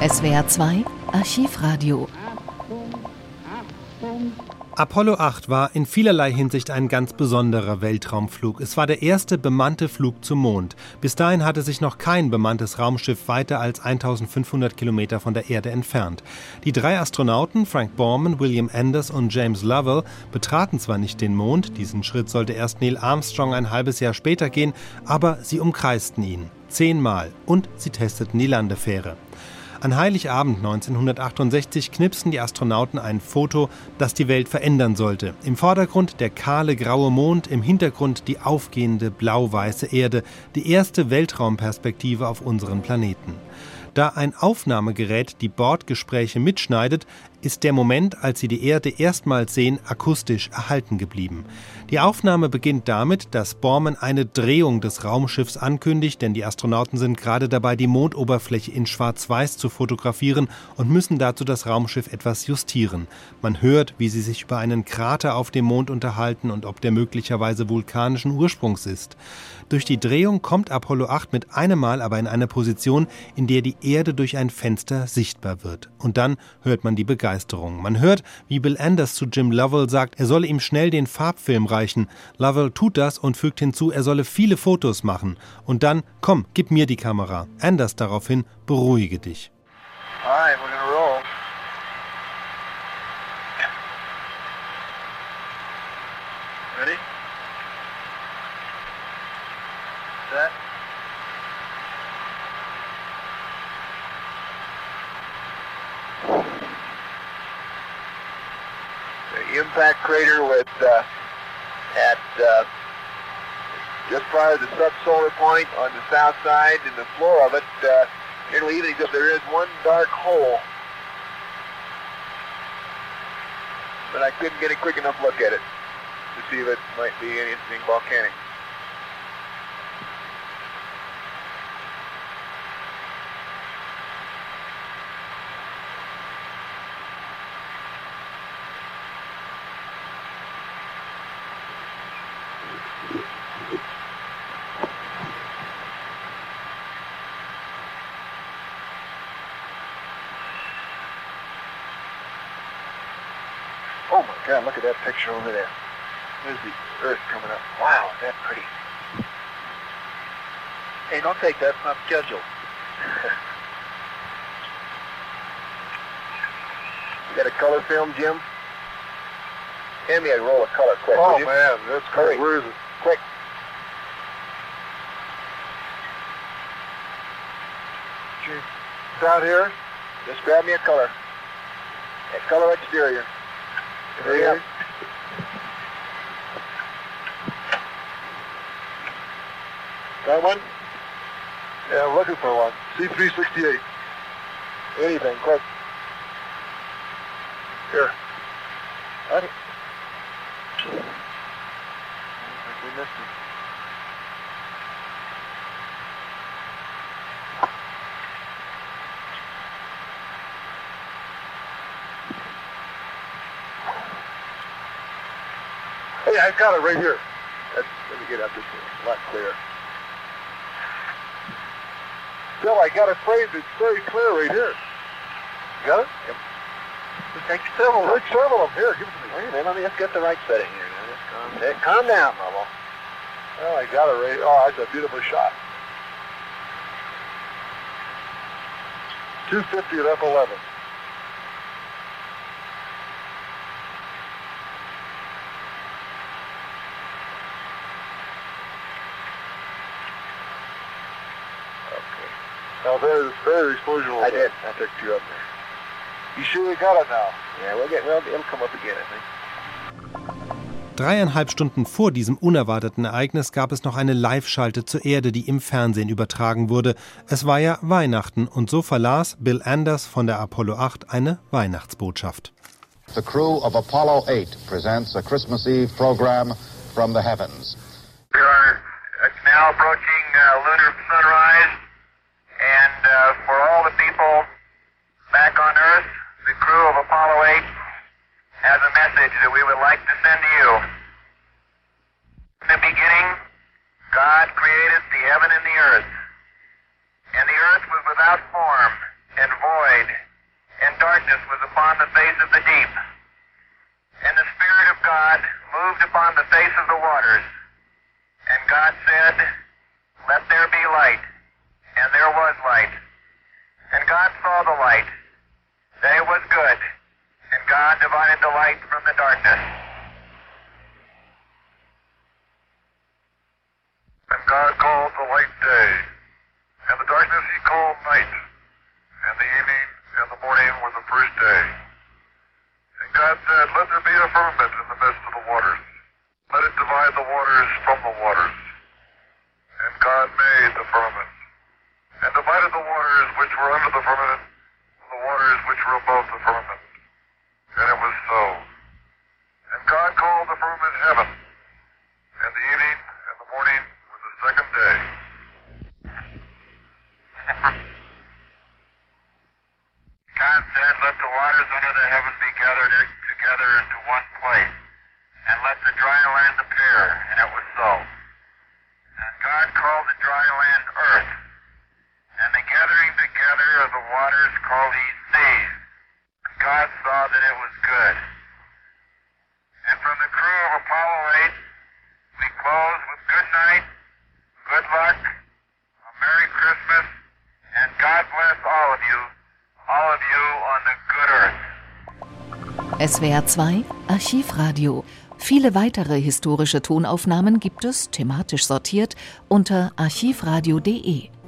SWR 2 Archivradio. Apollo 8 war in vielerlei Hinsicht ein ganz besonderer Weltraumflug. Es war der erste bemannte Flug zum Mond. Bis dahin hatte sich noch kein bemanntes Raumschiff weiter als 1500 Kilometer von der Erde entfernt. Die 3 Astronauten, Frank Borman, William Anders und James Lovell, betraten zwar nicht den Mond, diesen Schritt sollte erst Neil Armstrong ein halbes Jahr später gehen, aber sie umkreisten ihn. 10-mal. Und sie testeten die Landefähre. An Heiligabend 1968 knipsten die Astronauten ein Foto, das die Welt verändern sollte. Im Vordergrund der kahle graue Mond, im Hintergrund die aufgehende blau-weiße Erde, die erste Weltraumperspektive auf unseren Planeten. Da ein Aufnahmegerät die Bordgespräche mitschneidet, ist der Moment, als sie die Erde erstmals sehen, akustisch erhalten geblieben. Die Aufnahme beginnt damit, dass Borman eine Drehung des Raumschiffs ankündigt, denn die Astronauten sind gerade dabei, die Mondoberfläche in Schwarz-Weiß zu fotografieren und müssen dazu das Raumschiff etwas justieren. Man hört, wie sie sich über einen Krater auf dem Mond unterhalten und ob der möglicherweise vulkanischen Ursprungs ist. Durch die Drehung kommt Apollo 8 mit einem Mal aber in eine Position, in der die Erde durch ein Fenster sichtbar wird. Und dann hört man die Begeisterung. Man hört, wie Bill Anders zu Jim Lovell sagt, er solle ihm schnell den Farbfilm reichen. Lovell tut das und fügt hinzu, er solle viele Fotos machen. Und dann, komm, gib mir die Kamera. Anders daraufhin, beruhige dich. Alright, we're gonna roll. Ready? Set. The impact crater with at just prior to the subsolar point on the south side, and the floor of it nearly even, except there is one dark hole. But I couldn't get a quick enough look at it to see if it might be anything volcanic. Oh my God, look at that picture over there. There's the Earth coming up. Wow, is that pretty. Hey, don't take that, it's not scheduled. You got a color film, Jim? Hand me a roll of color quick. Oh will you? man, that's great. Where is it? Quick. Down here? Just grab me a color. A color exterior. Hurry up. Got one? Yeah, I'm looking for one. C368. Anything, quick. Here. What? We missed it. Hey, I got it right here. Let me get up this way. A lot clearer. Bill, I got it framed. It's very clear right here. You got it? Yep. Take several. Take several of them. Here, give it to me. Wait a minute, let me just get the right setting here. Now, just calm down, Bubble. Well, I got it right. Oh, that's a beautiful shot. 250 at F11. Now there's exposure. I did. I took 2 up there. You sure you got it now? Yeah, it'll come up again, I think. 3,5 Stunden vor diesem unerwarteten Ereignis gab es noch eine Live-Schalte zur Erde, die im Fernsehen übertragen wurde. Es war ja Weihnachten und so verlas Bill Anders von der Apollo 8 eine Weihnachtsbotschaft. The crew of Apollo 8 presents a Christmas Eve program from the heavens. We are now approaching lunar sunrise, and for all the people back on Earth, the crew of Apollo 8 has a message that we would like to send to you. In the beginning, God created the heaven and the earth. And the earth was without form and void, darkness was upon the face of the deep. And the Spirit of God moved upon the face of the waters. And God said, "Let there be light." And there was light. And God saw the light, that it was good. And God divided the light from the darkness. And God called the light day, and the darkness he called night. And the evening and the morning were the first day. And God said, "Let there be a firmament in the midst of the waters. Let it divide the waters from the waters." And God made the firmament, and divided the waters which were under the firmament from the waters which were above the firmament. And it was so. And God called the firmament heaven, and the evening and the morning were the second day. God said, "Let the waters under the heaven be gathered together into one place, and let the dry land appear." And it was so. And God called the dry land earth, and the gathering together of the waters called he seas. And God saw that it was good. And from the crew of Apollo 8, we close with good night, good luck, a Merry Christmas, and God bless all of you on the good earth. SWR 2 Archivradio. Viele weitere historische Tonaufnahmen gibt es, thematisch sortiert, unter archivradio.de.